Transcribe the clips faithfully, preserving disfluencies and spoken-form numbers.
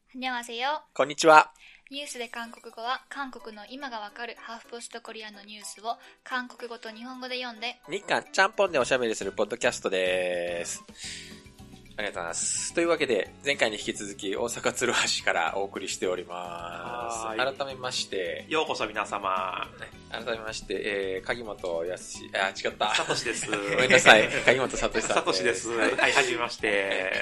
안녕하세요。 こんにちは。 ニュースで韓国語は韓国の今がわかるハーフポストコリアンのニュースを韓国語と日本語で読んで日韓ちゃんぽんでおしゃべりするポッドキャストです。ありがとうございます。というわけで、前回に引き続き大阪鶴橋からお送りしております。改めまして、 ようこそ皆様。 改めまして、えー、鍵本やすし、あ、違った。 さとしです。 ごめんなさい。鍵本さとしさん。 さとしです。はい、はじめまして。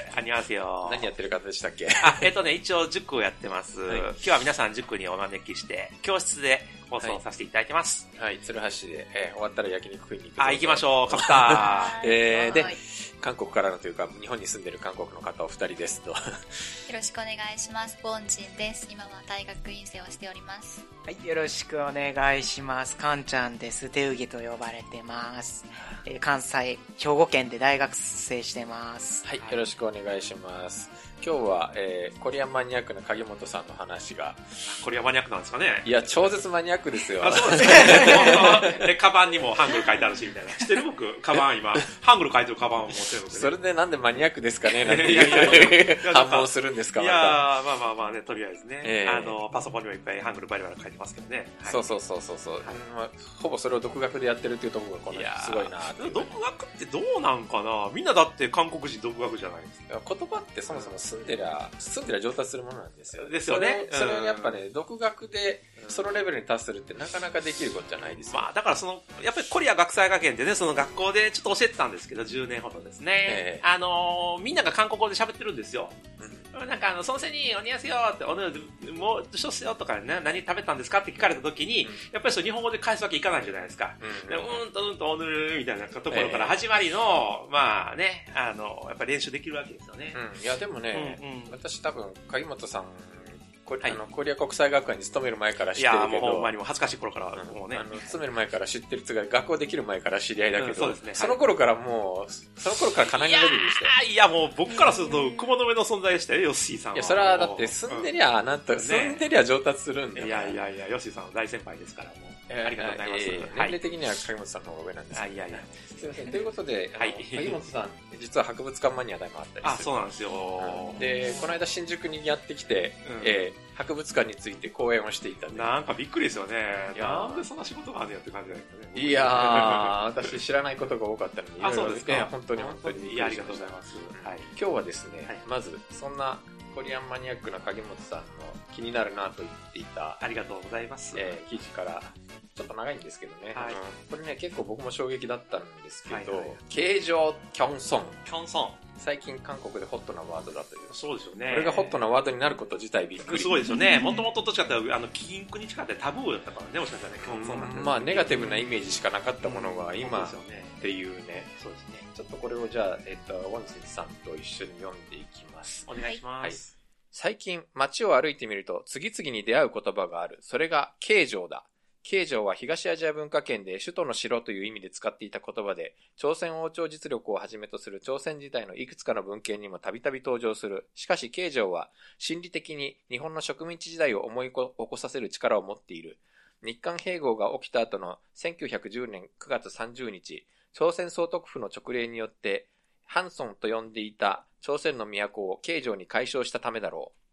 あにわせよ。 何やってる方でしたっけ？ あ、えっ、ー、とね、一応塾をやってます、はい。今日は皆さん塾にお招きして、教室で放送させていただいてます。 はい、はい、鶴橋で、えー、終わったら焼肉食いに行く。 あ、行きましょう。カプター。えー、で、韓国からのというか、日本に住んでる韓国の方お二人ですと。よろしくお願いします。ボンジンです。今は大学院生をしております。 はい、よろしくお願いします。カンちゃんです。手受と呼ばれてます。えー、関西、兵庫県で大学生してます。 はい、よろしくお願いします。今日は、えー、コリアンマニアックな鍵本さんの話が。 コリアンマニアックなんですかね？ いや、超絶マニアックですよ。 あ、そうですね。で、カバンにもハングル書いてあるし、みたいな。知ってる僕、カバン今、ハングル書いてるカバンを持ってるので、ね。 それでなんでマニアックですかねなんていう反問するんですか？ いやー、まあまあまあね、とりあえずね。 えー、 あの、パソコンにもいっぱいハングルバリバリ書いてますけどね。 はい、そうそうそうそうそう、はい、まあ。ほぼそれを独学でやってるっていうところがこのすごいなっていう。 独学ってどうなんかな？みんなだって韓国人独学じゃないですか。 言葉ってそもそも住んでりゃ、住んでりゃ上達するものなんですよ。 ですよね。 それを、それをやっぱね、独学でそのレベルに達するってなかなかできることじゃないですよ。 まあだからその、やっぱりコリア学際学園でね、その学校でちょっと教えてたんですけど、じゅうねんほどですね。えー、あのー、みんなが韓国語で喋ってるんですよ。うん、なんかあの、そのせに、おにやすよって、おぬ、もう、どうしようとかね、何食べたんですかって聞かれた時に、うん、やっぱりそう日本語で返すわけいかないじゃないですか。うん、でうんとうんとおぬるみたいなところから始まりの、えー、まあね、あの、やっぱり練習できるわけですよね。 うん、いやでもね、うんうん、私多分、鍵本さん、 はい、 あのコリア国際学園に勤める前から知ってるけど、 いやもうほんまにも恥ずかしい頃から、もうね、 あの勤める前から知ってるつが学校できる前から知り合いだけど、うん、 そうですね、 その頃からもう、その頃からかなりのレベルでしたよ。 いや、いやもう僕からすると雲の上の存在でしたよ、ヨッシーさんは。 いや、それはだって住んでりゃ、なんと、うん、住んでりゃ上達するんだよ、ね。 いやいやいや、ヨッシーさんは大先輩ですから、もう。ありがとうございます。 えー、年齢的には鍵本さんの方が上なんですけど、ね。 いやいや。 すいません。ということで、 はい、 鍵本さん、実は博物館マニアでもあったりする。 あ、そうなんですよ。 で、この間新宿にやってきて、うん、えー、博物館について講演をしていたんで。 なんかびっくりですよね。なんでそんな仕事があるんやって感じなんですかね。 いやー、私知らないことが多かったので、 あ、そうですか。 いや、本当に本当に。 いや、ありがとうございます。 はい。今日はですね、はい、まず、そんなコリアンマニアックな鍵本さんの気になるなと言っていた、 ありがとうございます。 えー、記事から、ちょっと長いんですけどね。 はい、 これね、結構僕も衝撃だったんですけど、 はいはい、 形状キョンソン。 キョンソン。 最近韓国でホットなワードだという。 そうですよね。 これがホットなワードになること自体びっくり。 すごいですよね。もともとどっちかっていうと、あの、禁句に近かったタブーだったからね、もしかしたらね、キョンソンなんて。 まあ、ネガティブなイメージしかなかったものが、今、っていうね。 そうですね。 ちょっとこれをじゃあ、えっと、ウォンスンさんと一緒に読んでいきます。 お願いします。はい。 最近、街を歩いてみると、次々に出会う言葉がある。それが、形状だ。形状は東アジア文化圏で首都の城という意味で使っていた言葉で、朝鮮王朝実力をはじめとする朝鮮時代のいくつかの文献にもたびたび登場する。しかし形状は心理的に日本の植民地時代を思い起こさせる力を持っている。日韓併合が起きた後のせんきゅうひゃくじゅうねんくがつさんじゅうにち、朝鮮総督府の直令によって、ハンソンと呼んでいた朝鮮の都を形状に改称したためだろう。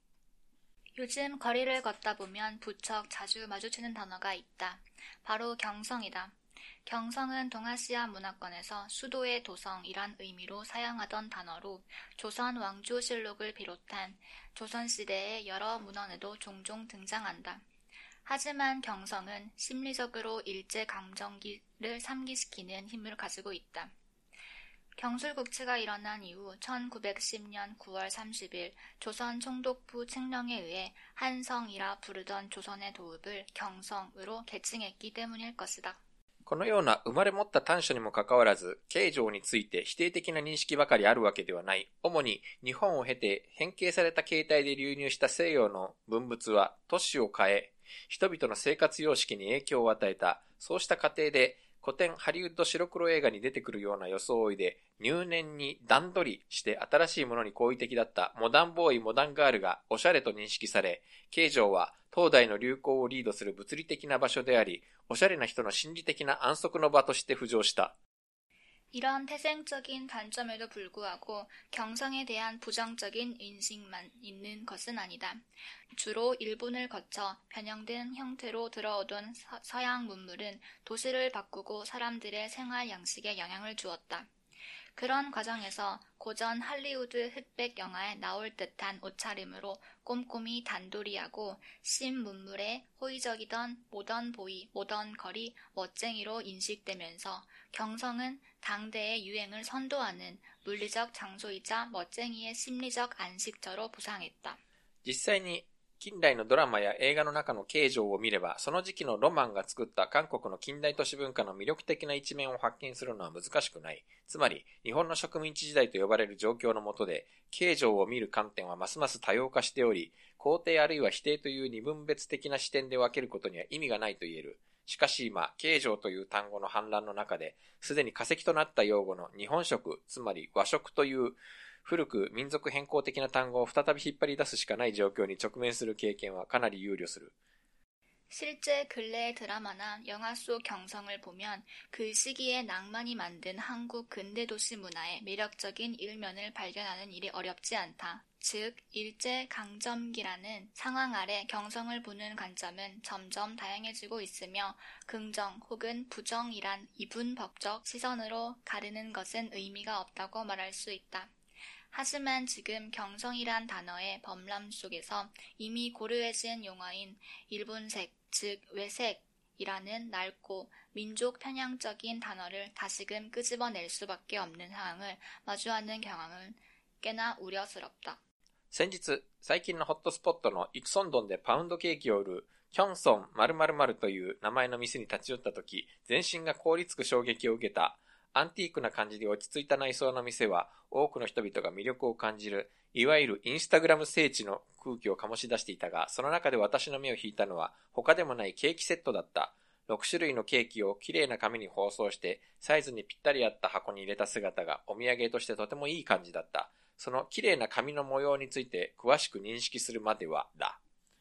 요즘 거리를 걷다 보면 부쩍 자주 마주치는 단어가 있다. 바로 경성이다. 경성은 동아시아 문화권에서 수도의 도성이란 의미로 사용하던 단어로 조선 왕조실록을 비롯한 조선시대의 여러 문헌에도 종종 등장한다. 하지만 경성은 심리적으로 일제강점기를 상기시키는 힘을 가지고 있다. 경술국치가 일어난 이후 천구백십 년 구월 삼십일 조선 총독부 책령에 의해 한성이라 부르던 조선의 도읍을 경성으로 계칭했기 때문일 것이다. このような生まれ持った短所にもかかわらず、形状について否定的な認識ばかりあるわけではない。主に日本を経て変形された形態で流入した西洋の文物は都市を変え、人々の生活様式に影響を与えた。そうした過程で、古典ハリウッド白黒映画に出てくるような装いで入念に段取りして新しいものに好意的だったモダンボーイモダンガールがおしゃれと認識され、形状は当代の流行をリードする物理的な場所であり、おしゃれな人の心理的な安息の場として浮上した。 이런 태생적인 단점에도 불구하고 경성에 대한 부정적인 인식만 있는 것은 아니다. 주로 일본을 거쳐 변형된 형태로 들어오던 서, 서양 문물은 도시를 바꾸고 사람들의 생활 양식에 영향을 주었다. 그런 과정에서 고전 할리우드 흑백 영화에 나올 듯한 옷차림으로 꼼꼼히 단도리하고 신문물에 호의적이던 모던 보이, 모던 걸이 멋쟁이로 인식되면서 경성은 당대의 유행을 선도하는 물리적 장소이자 멋쟁이의 심리적 안식처로 부상했다. 実際に近代のドラマや映画の中の形状を見れば、その時期のロマンが作った韓国の近代都市文化の魅力的な一面を発見するのは難しくない。つまり、日本の植民地時代と呼ばれる状況の下で、形状を見る観点はますます多様化しており、肯定あるいは否定という二分別的な視点で分けることには意味がないと言える。しかし今、形状という単語の氾濫の中で、すでに化石となった用語の日本食、つまり和食という古く民族変更的な単語を再び引っ張り出すしかない状況に直面する経験はかなり憂慮する。 실제 근래의 드라마나 영화 속 경성을 보면 그 시기에 낭만이 만든 한국 근대도시 문화의 매력적인 일면을 발견하는 일이 어렵지 않다. 즉, 일제강점기라는 상황 아래 경성을 보는 관점은 점점 다양해지고 있으며 긍정 혹은 부정이란 이분법적 시선으로 가르는 것은 의미가 없다고 말할 수 있다. 하지만 지금 경성이란 단어의 범람 속에서 이미 고르해진 용어인 일본색, 즉 외색이라는 낡고 민족 편향적인 단어를 다시금 끄집어낼 수밖에 없는 상황을 마주하는 경향은 꽤나 우려스럽다. 先日、最近のホットスポットのイクソンドンでパウンドケーキを売るキョンソン〇〇〇という名前の店に立ち寄ったとき、全身が凍りつく衝撃を受けた。アンティークな感じで落ち着いた内装の店は、多くの人々が魅力を感じる、いわゆるインスタグラム聖地の空気を醸し出していたが、その中で私の目を引いたのは、他でもないケーキセットだった。ろく種類のケーキをきれいな紙に包装して、サイズにぴったり合った箱に入れた姿がお土産としてとてもいい感じだった。そのきれいな紙の模様について詳しく認識するまではだ。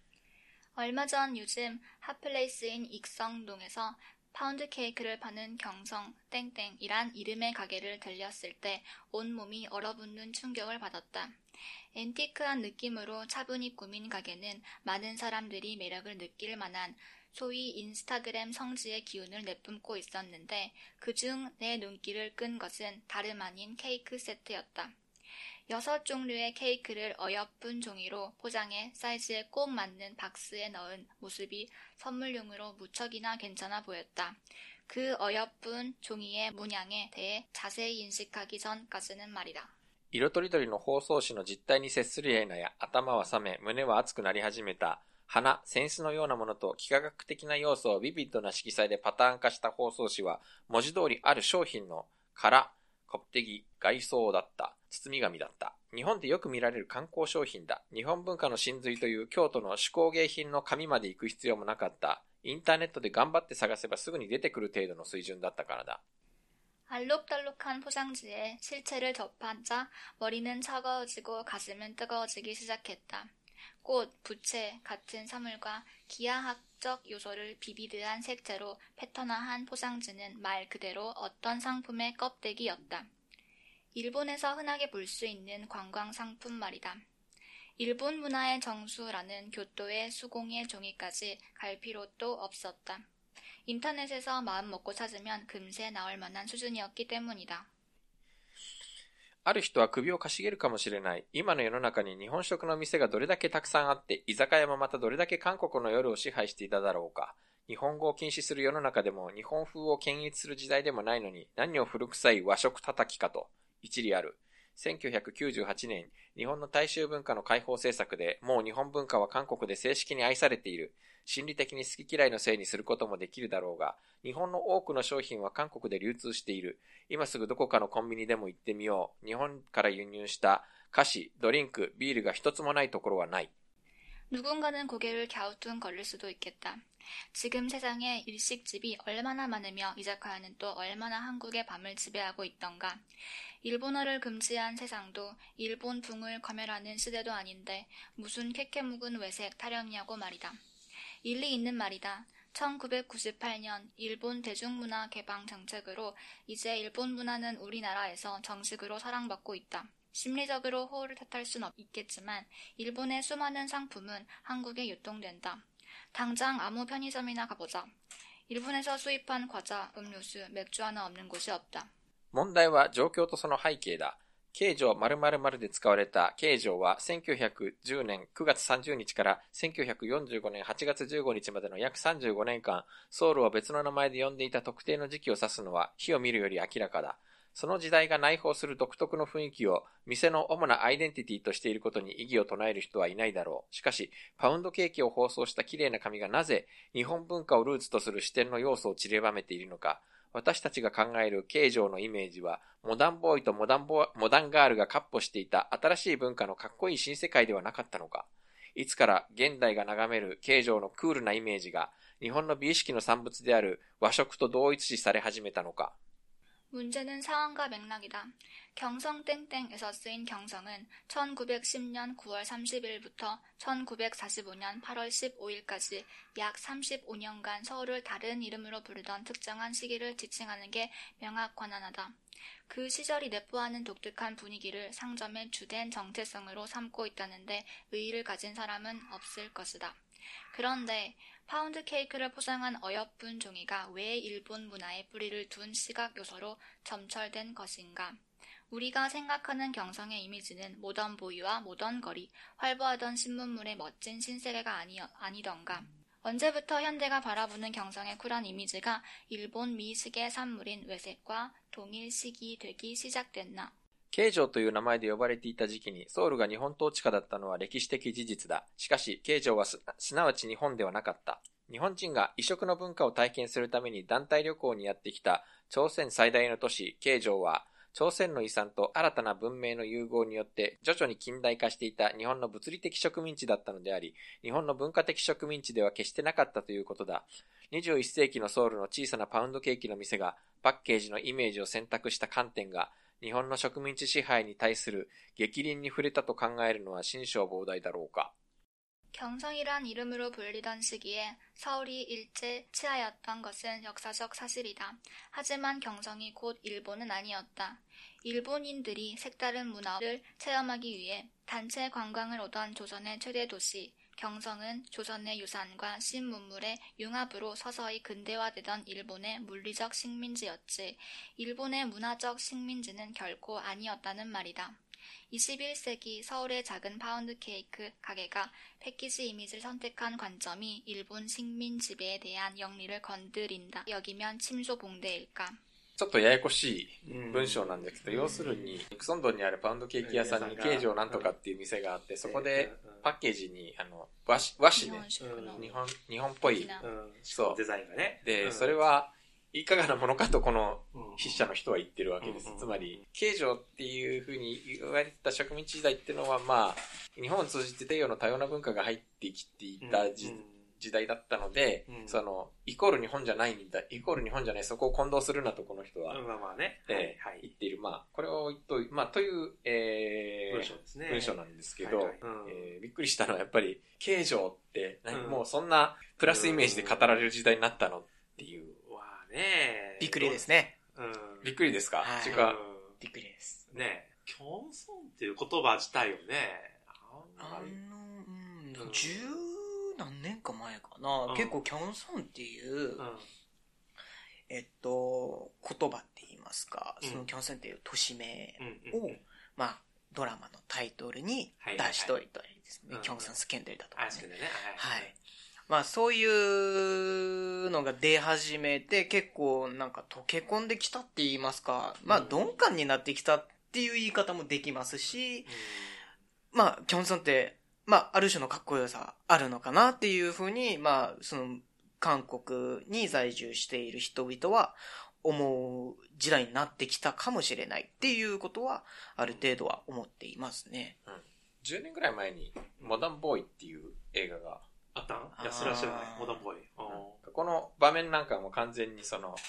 얼마 전 요즘 핫플레이스인 익성동에서 파운드 케이크를 파는 경성 땡땡이란 이름의 가게를 들렸을 때 온몸이 얼어붙는 충격을 받았다. 앤티크한 느낌으로 차분히 꾸민 가게는 많은 사람들이 매력을 느낄 만한 소위 인스타그램 성지의 기운을 내뿜고 있었는데 그중 내 눈길을 끈 것은 다름 아닌 케이크 세트였다. 여섯 종류의 케이크를 어여쁜 종이로 포장해 사이즈에 꼭 맞는 박스에 넣은 모습이 선물용으로 무척이나 괜찮아 보였다. 그 어여쁜 종이의 문양에 대해 자세히 인식하기 전까지는 말이다. 色とりどりの包装紙の実態に接するや否や頭は冷め、胸は熱くなり始めた。花、扇子のようなものと幾何学的な要素をビビッドな色彩でパターン化した包装紙は、文字通りある商品の殻、コプテギ、外装だった。包み紙だった。日本でよく見られる観光商品だ。日本文化の真髄という京都の手工芸品の紙まで行く必要もなかった。インターネットで頑張って探せばすぐに出てくる程度の水準だったからだ。 알록달록한 포장지에 실체를 접하자 머리는 차가워지고 가슴은 뜨거워지기 시작했다. 꽃, 부채 같은 사물과 기하학적 요소를 비비드한 색채로 패턴화한 포장지는 말 그대로 어떤 상품의 껍데기였다. 일본에서 흔하게 볼 수 있는 관광상품 말이다. 일본 문화의 정수라는 교토의 수공예 종이까지 갈 필요도 없었다. 인터넷에서 마음 먹고 찾으면 금세 나올 만한 수준이었기 때문이다. ある人は首をかしげるかもしれない。今の世の中に日本食の店がどれだけたくさんあって、居酒屋もまたどれだけ韓国の夜を支配していただろうか。日本語を禁止する世の中でも、日本風を検閲する時代でもないのに、何を古臭い和食叩きかと、一理ある。せんきゅうひゃくきゅうじゅうはちねん、日本の大衆文化の解放政策で、もう日本文化は韓国で正式に愛されている。心理的に好き嫌いのせいにすることもできるだろうが、日本の多くの商品は韓国で流通している。今すぐどこかのコンビニでも行ってみよう。日本から輸入した菓子、ドリンク、ビールが一つもないところはない。 누군가는 고개를 갸우뚱거릴 수도 있겠다. 지금 세상에 일식집이 얼마나 많으며 이자카야는 또 얼마나 한국의 밤을 지배하고 있던가. 일본어를 금지한 세상도 일본풍을 검열하는 시대도 아닌데 무슨 캐캐묵은 외색 타령이냐고 말이다. 일리 있는 말이다. 천구백구십팔 년 일본 대중문화 개방 정책으로 이제 일본 문화는 우리나라에서 정식으로 사랑받고 있다. 심리적으로 호의를 탓할 순 있겠지만 일본의 수많은 상품은 한국에 유통된다. 당장 아무 편의점이나 가보자. 일본에서 수입한 과자, 음료수, 맥주 하나 없는 곳이 없다. 問題は状況とその背景だ。京城〇〇〇で使われた京城はせんきゅうひゃくじゅうねんくがつさんじゅうにちからせんきゅうひゃくよんじゅうごねんはちがつじゅうごにちまでの約さんじゅうごねんかん、ソウルを別の名前で呼んでいた特定の時期を指すのは火を見るより明らかだ。その時代が内包する独特の雰囲気を店の主なアイデンティティとしていることに異議を唱える人はいないだろう。しかし、パウンドケーキを包装した綺麗な紙がなぜ日本文化をルーツとする視点の要素を散りばめているのか。私たちが考える京城のイメージは、モダンボーイとモダンボー、モダンガールが闊歩していた新しい文化のかっこいい新世界ではなかったのか。いつから現代が眺める京城のクールなイメージが、日本の美意識の産物である和食と同一視され始めたのか。 문제는 상황과 맥락이다. 경성땡땡에서 쓰인 경성은 천구백십 년 구월 삼십일부터 천구백사십오 년 팔월 십오일까지 약 삼십오 년간 서울을 다른 이름으로 부르던 특정한 시기를 지칭하는 게 명확 관한하다. 그 시절이 내포하는 독특한 분위기를 상점의 주된 정체성으로 삼고 있다는데 의의를 가진 사람은 없을 것이다. 그런데 파운드 케이크를 포장한 어여쁜 종이가 왜 일본 문화에 뿌리를 둔 시각 요소로 점철된 것인가? 우리가 생각하는 경성의 이미지는 모던 보이와 모던 거리, 활보하던 신문물의 멋진 신세계가 아니, 아니던가? 언제부터 현대가 바라보는 경성의 쿨한 이미지가 일본 미식의 산물인 외색과 동일시기 되기 시작됐나? 京城という名前で呼ばれていた時期にソウルが日本統治下だったのは歴史的事実だ。しかし、京城は す, すなわち日本ではなかった。日本人が異色の文化を体験するために団体旅行にやってきた朝鮮最大の都市、京城は、朝鮮の遺産と新たな文明の融合によって徐々に近代化していた日本の物理的植民地だったのであり、日本の文化的植民地では決してなかったということだ。にじゅういっせいきのソウルの小さなパウンドケーキの店がパッケージのイメージを選択した観点が、日本の植民地支配に対する逆鱗に触れたと考えるのは心象膨大だろうか。 경성이란 이름으로 불리던 시기에 서울이 일제 치하였던 것은 역사적 사실이다. 하지만 경성이 곧 일본은 아니었다. 일본인들이 색다른 문화를 체험하기 위해 단체 관광을 오던 조선의 최대 도시 경성은 조선의 유산과 신문물의 융합으로 서서히 근대화되던 일본의 물리적 식민지였지. 일본의 문화적 식민지는 결코 아니었다는 말이다. 이십일 세기 서울의 작은 파운드 케이크 가게가 패키지 이미지를 선택한 관점이 일본 식민 지배에 대한 영리를 건드린다 여기면 침소봉대일까? ちょっとややこしい文章なんですけど、要するにニクソンドンにあるパウンドケーキ屋さんに京城なんとかっていう店があって、そこでパッケージにあの和紙和紙で日本日本っぽいそうデザインがね。 で、それはいかがなものかとこの筆者の人は言ってるわけです。つまり京城っていうふうに言われてた植民地時代っていうのは、まあ日本を通じて西洋の多様な文化が入ってきていた時時代だったので、うん、そのイコール日本じゃないんだ、イコール日本じゃない、そこを混同するなとこの人は、 まあまあね、 えーはい、言っている。まあこれをとまあという、えー、文章ですね。文章なんですけど、はいはいうんえー、びっくりしたのはやっぱり京城って、うん、もうそんなプラスイメージで語られる時代になったのっていう。 わあね。 びっくりですね。 うん、びっくりですか。 はい、 違う。 びっくりです。 ね。キョンソンっていう言葉自体をね、 あのうん十何年か前かな、うん、結構キョンソンっていう、うん、えっと言葉って言いますか、うん、そのキョンソンっていう都市名を、うんうんうん、まあドラマのタイトルに出しといたりですね、はいはいはい、キョンソンスキャンダルだとかね、うん、はい、はい、まあそういうのが出始めて結構なんか溶け込んできたって言いますか、まあ鈍感になってきたっていう言い方もできますし、うん、まあキョンソンってまあ、ある種のかっこよさあるのかなっていうふうに、まあ、その、韓国に在住している人々は思う時代になってきたかもしれないっていうことは、ある程度は思っていますね。 うん。じゅうねんぐらい前に、モダンボーイっていう映画があったん？いや、それは知らない。モダンボーイ。 この場面なんかも完全にその、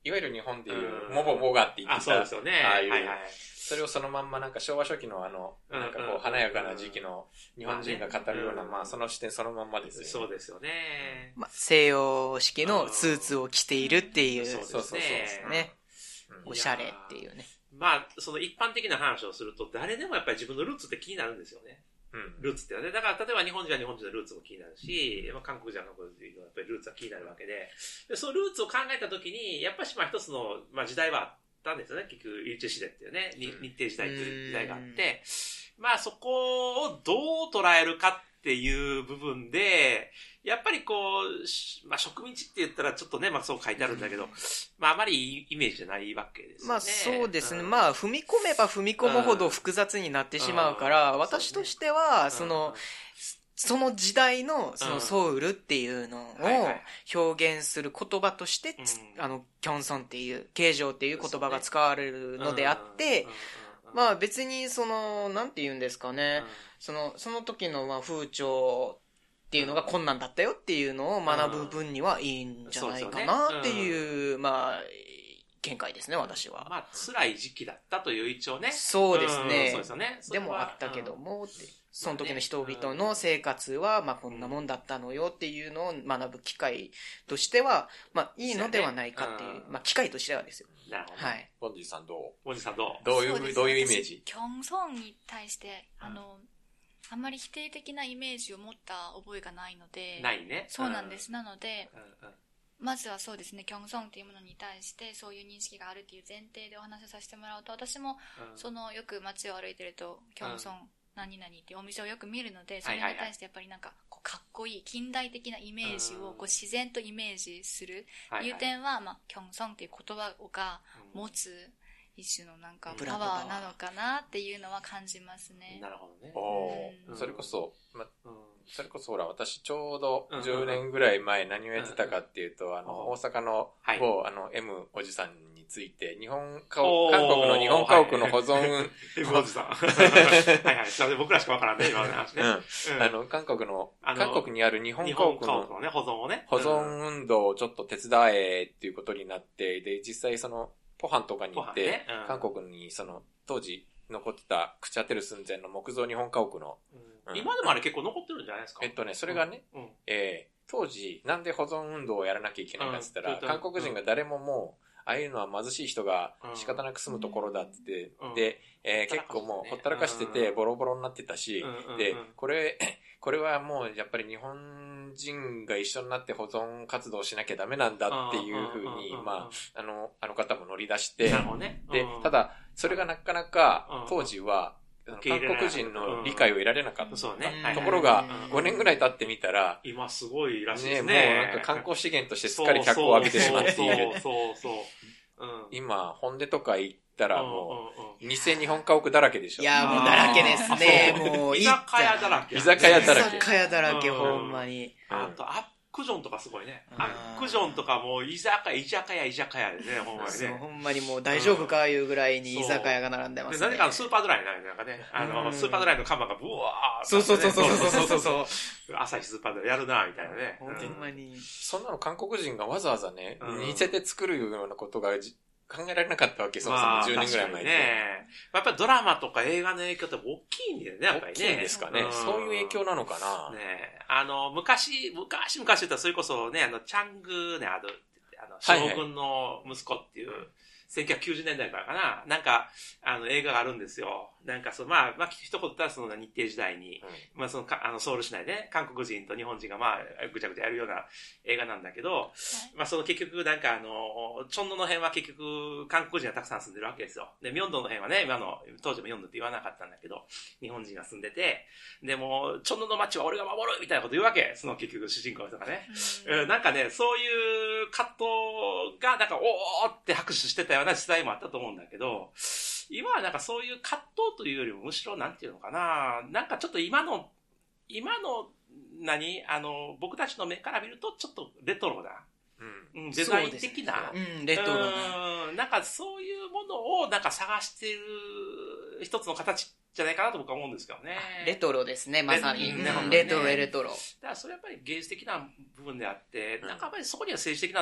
いわゆる日本でいうモボモガって言ってた、 あ、そうですよね。 ああいう、 はいはい、 それをそのまんまなんか昭和初期のあの、なんかこう華やかな時期の日本人が語るような、まあその視点そのまんまですよね。 そうですよね。 まあ、西洋式のスーツを着ているっていう。 そうですね。おしゃれっていうね。 まあ、その一般的な話をすると、誰でもやっぱり自分のルーツって気になるんですよね。うん、ルーツってね。だから、例えば日本人は日本人のルーツも気になるし、まあ、韓国人は韓国人のやっぱりルーツは気になるわけで、でそのルーツを考えたときに、やっぱりまあ一つの、まあ、時代はあったんですよね。結局、イルチェシデっていうね、日程時代という時代があって、まあそこをどう捉えるかっていう部分で、やっぱりこう、まあ植民地って言ったらちょっとね、まあそう書いてあるんだけど、まああまりいいイメージじゃないわけですよね。 まあそうですね。うん、まあ踏み込めば踏み込むほど複雑になってしまうから、うん、私としては、その、うん、その時代のそのソウルっていうのを表現する言葉として、うん、あの、キョンソンっていう、慶常っていう言葉が使われるのであって、まあ別にその、なんて言うんですかね、その、その時のまあ風潮っていうのが困難だったよっていうのを学ぶ分にはいいんじゃないかなっていう、まあ、見解ですね、私は。 まあ、辛い時期だったという一応ね。 そうですね。 そうですよね。 でもあったけども、ってその時の人々の生活は、まあこんなもんだったのよっていうのを学ぶ機会としては、まあいいのではないかっていう、まあ機会としてはですよ。 なるほど。 はい。 ボンジーさんどうボンジーさんどうどういう、どういうイメージ？ キョンソンに対して、あの、あんまり否定的なイメージを持った覚えがないので。 ないね。 そうなんです。なので、まずはそうですね、キョンソンっていうものに対してそういう認識があるっていう前提でお話をさせてもらうと、私も、そのよく街を歩いてると、キョンソン何々っていうお店をよく見るので、それに対してやっぱりなんかこうかっこいい近代的なイメージをこう自然とイメージするいう点は、まあ、キョンソンっていう言葉が持つ一種のなんかパワーなのかなっていうのは感じますね。 なるほどね。 おー、それこそ、ま、それこそほら、私ちょうどじゅうねんぐらい前何をやってたかっていうと、あの、大阪の某、あの、M おじさんについて、日本家屋、韓国の日本家屋の保存、 M おじさん。はいはい。それで僕らしかわからんね、今の話ね。 あの、韓国の、韓国にある日本家屋の保存をね、 保存運動をちょっと手伝えっていうことになって、で、実際その、ポハンとかに行って、韓国にその、当時残ってた朽ち果てる寸前の木造日本家屋の、 うん、今でもあれ結構残ってるんじゃないですか？ えっとね、それがね、うんうん、えー、当時なんで保存運動をやらなきゃいけないかって言ったら、うん、韓国人が誰ももう、ああいうのは貧しい人が仕方なく住むところだって言って、うん、で、えー、結構もうほったらかしててボロボロになってたし、うん、で、これ、これはもうやっぱり日本人が一緒になって保存活動しなきゃダメなんだっていうふうに、まあ、あの、あの方も乗り出して、 ね、 で、ただ、それがなかなか当時は、韓国人の理解を得られなかった。 そうね。 ところが、ごねんぐらい経ってみたら、 今すごいらしいですね。ね、もうなんか観光資源としてすっかり脚光を浴びてしまっている。 そうそうそう。 今、本音とか行ったらもう、偽日本家屋だらけでしょ。 いや、もうだらけですね。もう、 居酒屋だらけ。 居酒屋だらけ。 居酒屋だらけ、ほんまに。 あと、アックジョンとかすごいね。アックジョンとかもう居酒屋、居酒屋、居酒屋でね、ほんまにね。 ほんまにもう大丈夫かいうぐらいに居酒屋が並んでますね。 で、何かスーパードライなんかね、あの、スーパードライの看板がブワーそうそうそうそうそうそうそう。 朝日スーパードライやるな、みたいなね。 ほんまに。 そんなの韓国人がわざわざね、似せて作るようなことが考えられなかったわけ、そもそもじゅうねんぐらい前に。 ね。やっぱりドラマとか映画の影響って大きいんだよね、やっぱりね。 大きいんですかね。そういう影響なのかな。 ねあの、昔、昔昔言ったらそれこそね、あの、チャングね、あの、あの、将軍の息子っていう、はいはい、せんきゅうひゃくきゅうじゅうねんだいからかな。なんか、あの、映画があるんですよ。なんか、その、まあ、まあ、一言言ったら、その、日程時代に、うん、まあ、その、あの、ソウル市内で、ね、韓国人と日本人が、まあ、ぐちゃぐちゃやるような映画なんだけど、はい、まあ、その結局、なんか、あの、チョンドの辺は結局、韓国人がたくさん住んでるわけですよ。で、ミョンドの辺はね、今の、当時もミョンドって言わなかったんだけど、日本人が住んでて、でも、チョンドの街は俺が守るみたいなこと言うわけ。その結局、主人公の人がね。うん、なんかね、そういう葛藤が、なんか、おーって拍手してたような時代もあったと思うんだけど、今はなんかそういう葛藤というよりもむしろなんていうのかな、なんかちょっと今の、今の何あの、僕たちの目から見るとちょっとレトロな、うん、デザイン的な、 うん、レトロな。 うん、なんかそういうものをなんか探している一つの形じゃないかなと僕は思うんですけどね。 レトロですね、まさに。レ,、うん、レトロ、レトロ。だからそれやっぱり芸術的な部分であって、うん、なんかやっぱりそこには政治的な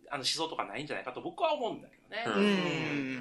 あの思想とかないんじゃないかと僕は思うんだけどね。 うん。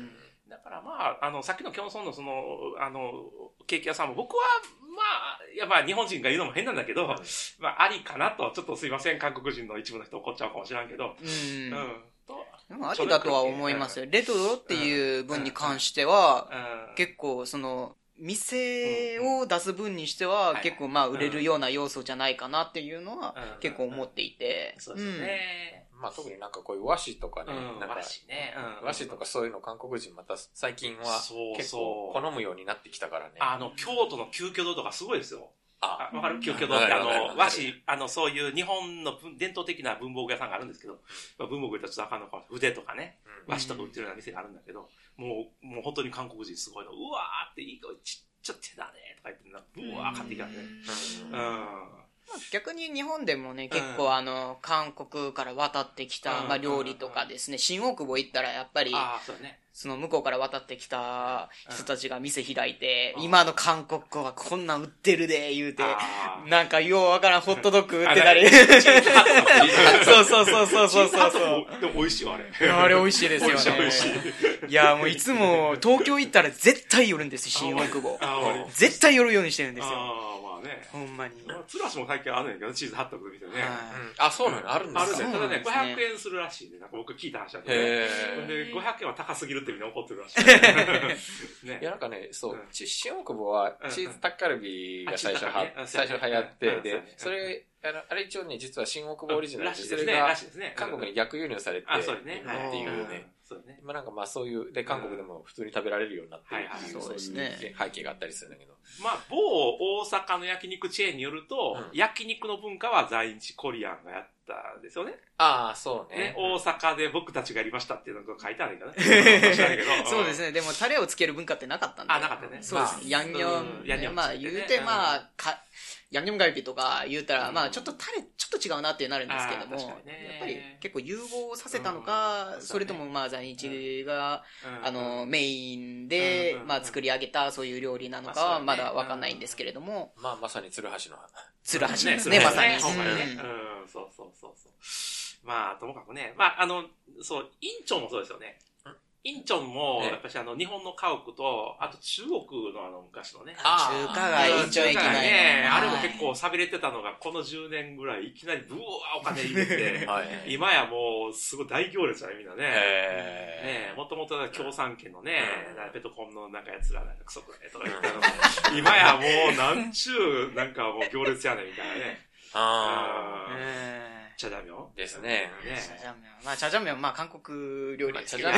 だからまあ、あの、さっきのキョンソンのその、あの、ケーキ屋さんも僕は、まあ、いやまあ日本人が言うのも変なんだけど、まあありかなと、ちょっとすいません、韓国人の一部の人怒っちゃうかもしれんけど、 うん。 うん。とでもありだとは思いますよ。レトロっていう分に関しては、結構その、店を出す分にしては、結構まあ売れるような要素じゃないかなっていうのは結構思っていて。 そうですね。 まあ特になんかこういう和紙とかね、 うん、 なんか和紙ね、 うん、和紙とかそういうの韓国人また最近は結構好むようになってきたからね。 あの、京都の旧居堂とかすごいですよ。あ、わかる？旧居堂ってあの、和紙、あの、そういう日本の伝統的な文房具屋さんがあるんですけど、まあ、文房具言ったらちょっとあかんのかもしれない。筆とかね、和紙とか売ってるような店があるんだけど、もう、もう本当に韓国人すごいの、うわーっていいちっちゃ手だねとか言って、うわー買ってきたね。うん。 逆に日本でもね、結構あの、韓国から渡ってきた、まあ料理とかですね、新大久保行ったらやっぱり、その向こうから渡ってきた人たちが店開いて、今の韓国語はこんなん売ってるで、言うて、なんかようわからんホットドッグ売ってたり。そうそうそうそうそうそう。 でも美味しいよ、あれ。 あれ美味しいですよね。美味しい。いや、もういつも東京行ったら絶対寄るんですよ、新大久保。絶対寄るようにしてるんですよ。ほんまに。 ツラシも最近あるんやけど、チーズハットグみたいなね。 あ、そうなのあるんですか？ あるね。ただね、ごひゃくえんするらしいね。なんか僕聞いた話だけどね。で、ごひゃくえんは高すぎるってみんな怒ってるらしい。 いや、なんかね、そう、新大久保はチーズタッカルビが最初は、最初流行って、で、それ、あの、あれ一応ね、実は新大久保オリジナルで、それが韓国に逆輸入されて、っていうね。そうね。まあなんかまあそういう、で、韓国でも普通に食べられるようになってるっていう、そういう背景があったりするんだけど。 まあ、某大阪の焼肉チェーンによると、焼肉の文化は在日コリアンがやったんですよね。 ああ、そうね。 大阪で僕たちがやりましたっていうのが書いてあるんだけどそうですね。でもタレをつける文化ってなかったんで。 あ、なかったね。 そうですね。ヤンニョン。まあ言うてまあ、ヤンニョンガイピとか言うたら、まあちょっとタレちょっと違うなってなるんですけども、やっぱり結構融合させたのか、それともまあ在日が、あの、メインで、まあ作り上げたそういう料理なのかはまだわかんないんですけれども。 まあまさに鶴橋の。 鶴橋ですね、まさに。 うん、そうそうそうそう。まあ、ともかくね、まあ、あの、そう、インチョンもそうですよね。インチョンも、やっぱりあの、日本の家屋と、あと中国のあの、昔のね。 中華街、インチョン駅前ね。あれも結構寂れてたのが、このじゅうねんぐらい、いきなりブワーお金入れて、今やもう、すごい大行列だね、みんなね。ねもともと共産圏のね、ペトコンのなんか奴らなんかクソくらいとか言ったのが、今やもう、なんちゅう、なんかもう行列やねん、みたいなね。ああ。チャジャミョンですね。 チャジャミョン。まあ、チャジャミョン、まあ、韓国料理ですけど。 まあ、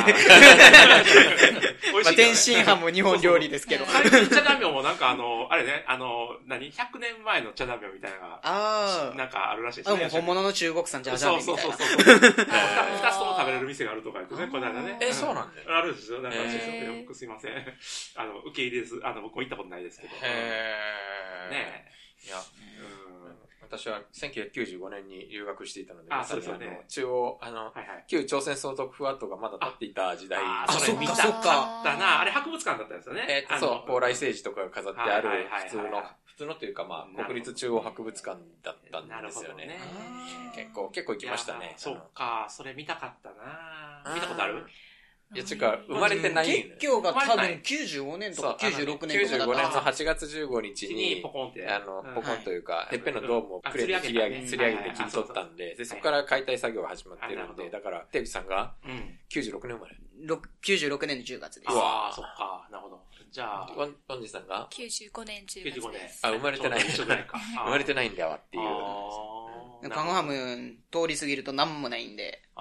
天津飯も日本料理ですけど。 最近チャジャミョンもなんかあの、あれね、あの、何 ?ひゃく 年前のチャジャミョンみたいなのが、あなんかあるらしいですね。 もう本物の中国産チャジャミョンみたいな。 そうそうそうそう。二つとも食べれる店があるとか言ってね、この間ね。 え、そうなんだよ。 あるんですよ。なんか、僕すいません。あの、受け入れず、あの、僕も行ったことないですけど。へー。ねえ。いや、私はせんきゅうひゃくきゅうじゅうごねんに留学していたので、 あ、そうですよね。 中央、あの、旧朝鮮総督府跡がまだ立っていた時代。 あ、それ見たかったな。あれ博物館だったんですよね。 えっと、そう、蓬莱政治とかが飾ってある、普通の、普通のというか、まあ、国立中央博物館だったんですよね。結構、結構行きましたね。 そっか、それ見たかったな。見たことある？ いや、ちゅうか、生まれてない。 結局が多分きゅうじゅうごねんとかきゅうじゅうろくねんとかだった。きゅうじゅうごねんのはちがつじゅうごにちに、 ポコンって。 あの、ポコンというか、てっぺんのドームをクレーンで切り上げ、吊り上げて切り取ったんで、で、そこから解体作業が始まってるんで、だから、テイビさんが、きゅうじゅうろくねん生まれ。 きゅうじゅうろくねんのじゅうがつです。 うわぁ、そっか、なるほど。じゃあ、 ワン、ワンジさんがきゅうじゅうごねんじゅうがつです。 あ、生まれてない。生まれてないんだわっていう。 カンハム通り過ぎると何もないんで。 うん。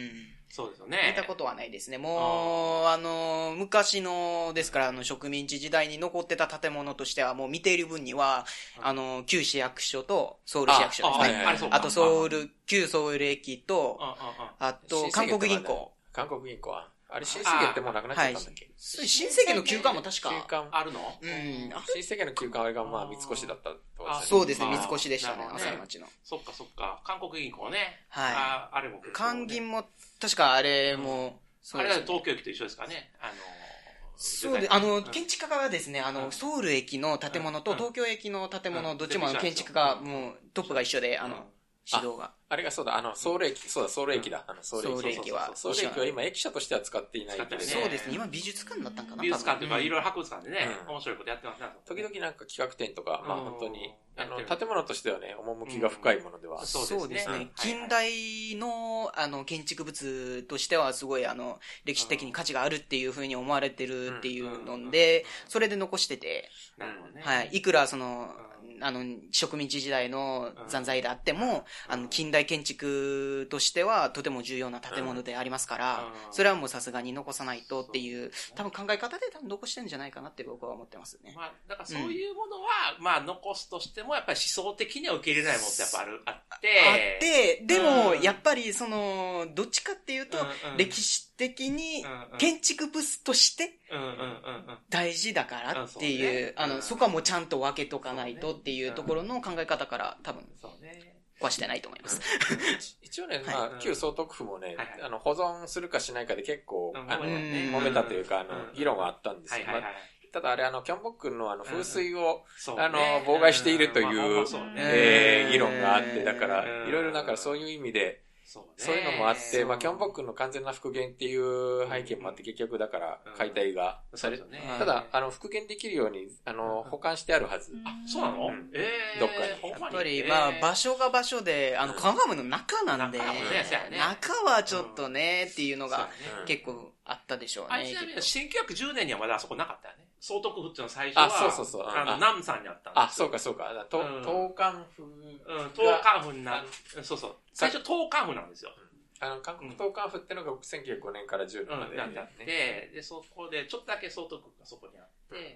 そうですよね。 見たことはないですね。もう、あの、昔の、ですから、あの、植民地時代に残ってた建物としては、もう見ている分には、あの、旧市役所とソウル市役所ですね。あと、ソウル、旧ソウル駅と、あと、韓国銀行。 韓国銀行はあれ、新世界ってもうなくなっちゃったんだっけ？ 新世界の休館も確か。 休館あるの？ うん。新世界の休館あれがまあ、三越だったと。 そうですね、三越でしたね、朝日町の。 そっかそっか。韓国銀行ね。 はい。 あ、あれも。 韓銀も、確かあれも、 あれは東京駅と一緒ですかね。あの、 そうで、あの、建築家がですね、あの、ソウル駅の建物と東京駅の建物、どっちも建築家、もうトップが一緒で、あの、指導が。 あれがそうだ、あの、ソウル駅、そうだ、ソウル駅だ。あの、ソウル駅。 ソウル駅は。 ソウル駅は今駅舎としては使っていないけれど、ね、 そうですね。今美術館だったんかな。 美術館というか、いろいろ博物館でね、うん、面白いことやってますね。 時々なんか企画展とか、まあ本当に、あの、建物としてはね、趣が深いものでは。 うん、そうですね。近代の、あの、建築物としてはすごい、あの、歴史的に価値があるっていうふうに思われてるっていうので、それで残してて、 なるほどね。 はい。いくらその、あの、植民地時代の残骸であっても、あの、近代建築としてはとても重要な建物でありますから、それはもうさすがに残さないとっていう、多分考え方で多分残してるんじゃないかなって僕は思ってますね。 まあ、だからそういうものは、うん、まあ、残すとしても、やっぱり思想的には受け入れないものってやっぱある、あって。 あって、でも、やっぱりその、どっちかっていうと、歴史的に建築物として、大事だからっていう、あの、そこはもうちゃんと分けとかないとっていうところの考え方から多分、壊してないと思います。 一応ね、まあ、旧総督府もね、あの、保存するかしないかで結構、あの、揉めたというか、あの、議論があったんですよ。ただあれ、あの、キョンボックンのあの、風水を、あの、妨害しているという、え、議論があって、だから、いろいろだからそういう意味で、そういうのもあって、まあ、キョンボックンの完全な復元っていう背景もあって、結局だから解体がされ、ただ、あの、復元できるように、あの、保管してあるはず。 あ、そうなの？ええ。どっかに。 やっぱり、まあ、場所が場所で、あの、カンガムの中なんで、中はちょっとね、っていうのが結構あったでしょうね。 あ、ちなみに、せんきゅうひゃくじゅうねんにはまだあそこなかったよね。総督府っていうのは最初は、あ、 そうそうそう。 あの、南山にあったんですよ。 あ、そうかそうか。東関府。うん、 東関府になる。そうそう。最初東関府なんですよ。 あの、韓国東関府ってのがせんきゅうひゃくごねんからじゅうねんまでやって、で、そこで、ちょっとだけ総督府がそこにあって、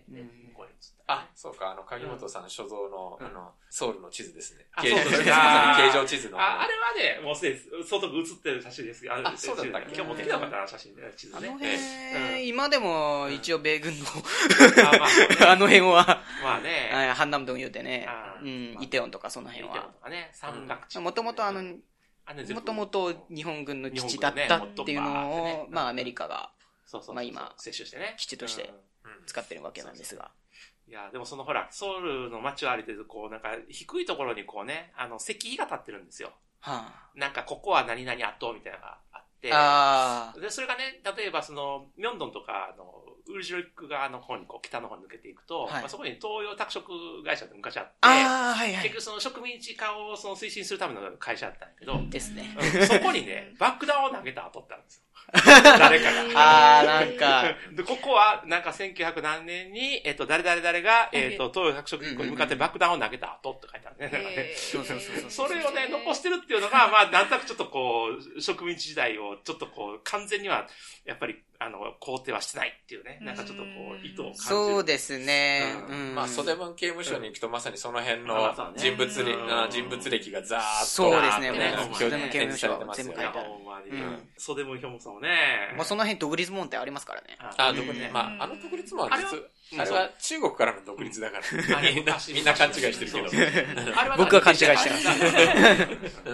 で、向こうに移った。 あ、そうか、あの、鍵本さん所蔵の、あの、ソウルの地図ですね。 形状地図の。 あ、あれはね、もうすでに総督写ってる写真ですけど、 あ、そうだったっけ？ 今日持ってきたかったな、写真で、地図ね。 あの辺、今でも一応米軍の、あの辺は、 まあね、 ハンナムドン言うてね、うん、イテオンとかその辺は。 イテオンとかね、山岳地。 もともとあの、もともと日本軍の基地だったっていうのを、まあアメリカが、まあ今、 接収してね、 基地として使ってるわけなんですが。 いや、でもそのほら、ソウルの街を歩いてると、こうなんか低いところにこうね、あの石碑が立ってるんですよ。 はあ、なんかここは何々跡みたいなのがあって、 あで、それがね、例えばその、ミョンドンとかの、ウルジロリック側の方にこう北の方に抜けていくと、はい、まあ、そこに東洋拓殖会社って昔あって、 あ、はいはい、 結局その植民地化をその推進するための会社だったんだけど、 ですね。 うん、そこにね、爆弾を投げた後ってあるんですよ。誰かが。 ああ、なんか。 で、ここは、なんかせんきゅうひゃく何年に、えっと、誰々誰が、えっと、東洋拓殖国に向かって爆弾を投げた後って書いてあるね。 えー、そうそうそうそう。それをね、残してるっていうのが、まあ、なんとなくちょっとこう、植民地時代を、ちょっとこう、完全には、やっぱり、あの、肯定はしてないっていうね、なんかちょっとこう、意図を感じる。 そうですね。 うん。まあ、袖文刑務所に行くと、まさにその辺の人物歴、人物歴がザーッと。 そうですね、 もう、 袖文刑務所全部書いてある。 袖文表もね。 もうその辺独立門ってありますからね。 あ、独立、まあ、あの独立門は実、あれは中国からの独立だから、みんな、みんな勘違いしてるけど。 僕は勘違いしてます。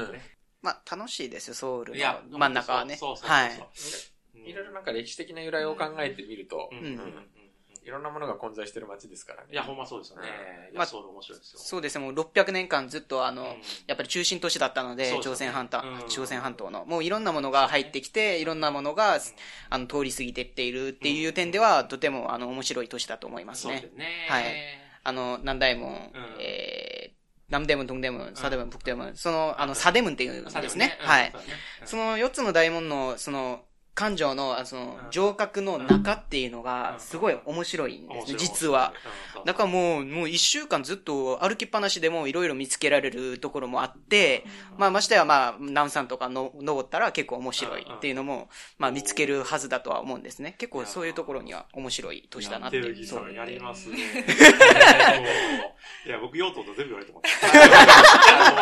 まあ、楽しいですよ、ソウルの真ん中はね。はい。 いろいろなんか歴史的な由来を考えてみると、いろんなものが混在してる街ですからね。 いや、ほんまそうですよね。いや、ソウル面白いですよ。 そうですね、もうろっぴゃくねんかんずっとあの、やっぱり中心都市だったので、朝鮮半島、朝鮮半島の、もういろんなものが入ってきて、いろんなものが、あの、通り過ぎてっているっていう点では、とてもあの、面白い都市だと思いますね。 そうですね。 はい。あの、南大門、えー、南大門、東大門、サデ門、北大門、その、あの、サデ門っていうんですね。はい。そのよっつの大門の、その、環状の、その、城郭の中っていうのが、すごい面白いんですね、実は。だからもう、もう一週間ずっと歩きっぱなしでもいろいろ見つけられるところもあって、まあ、ましてやまあ、南山とかの登ったら結構面白いっていうのも、まあ、見つけるはずだとは思うんですね。結構そういうところには面白い都市だなって。 そうやりますね。いや、僕、用途と全部言われてます。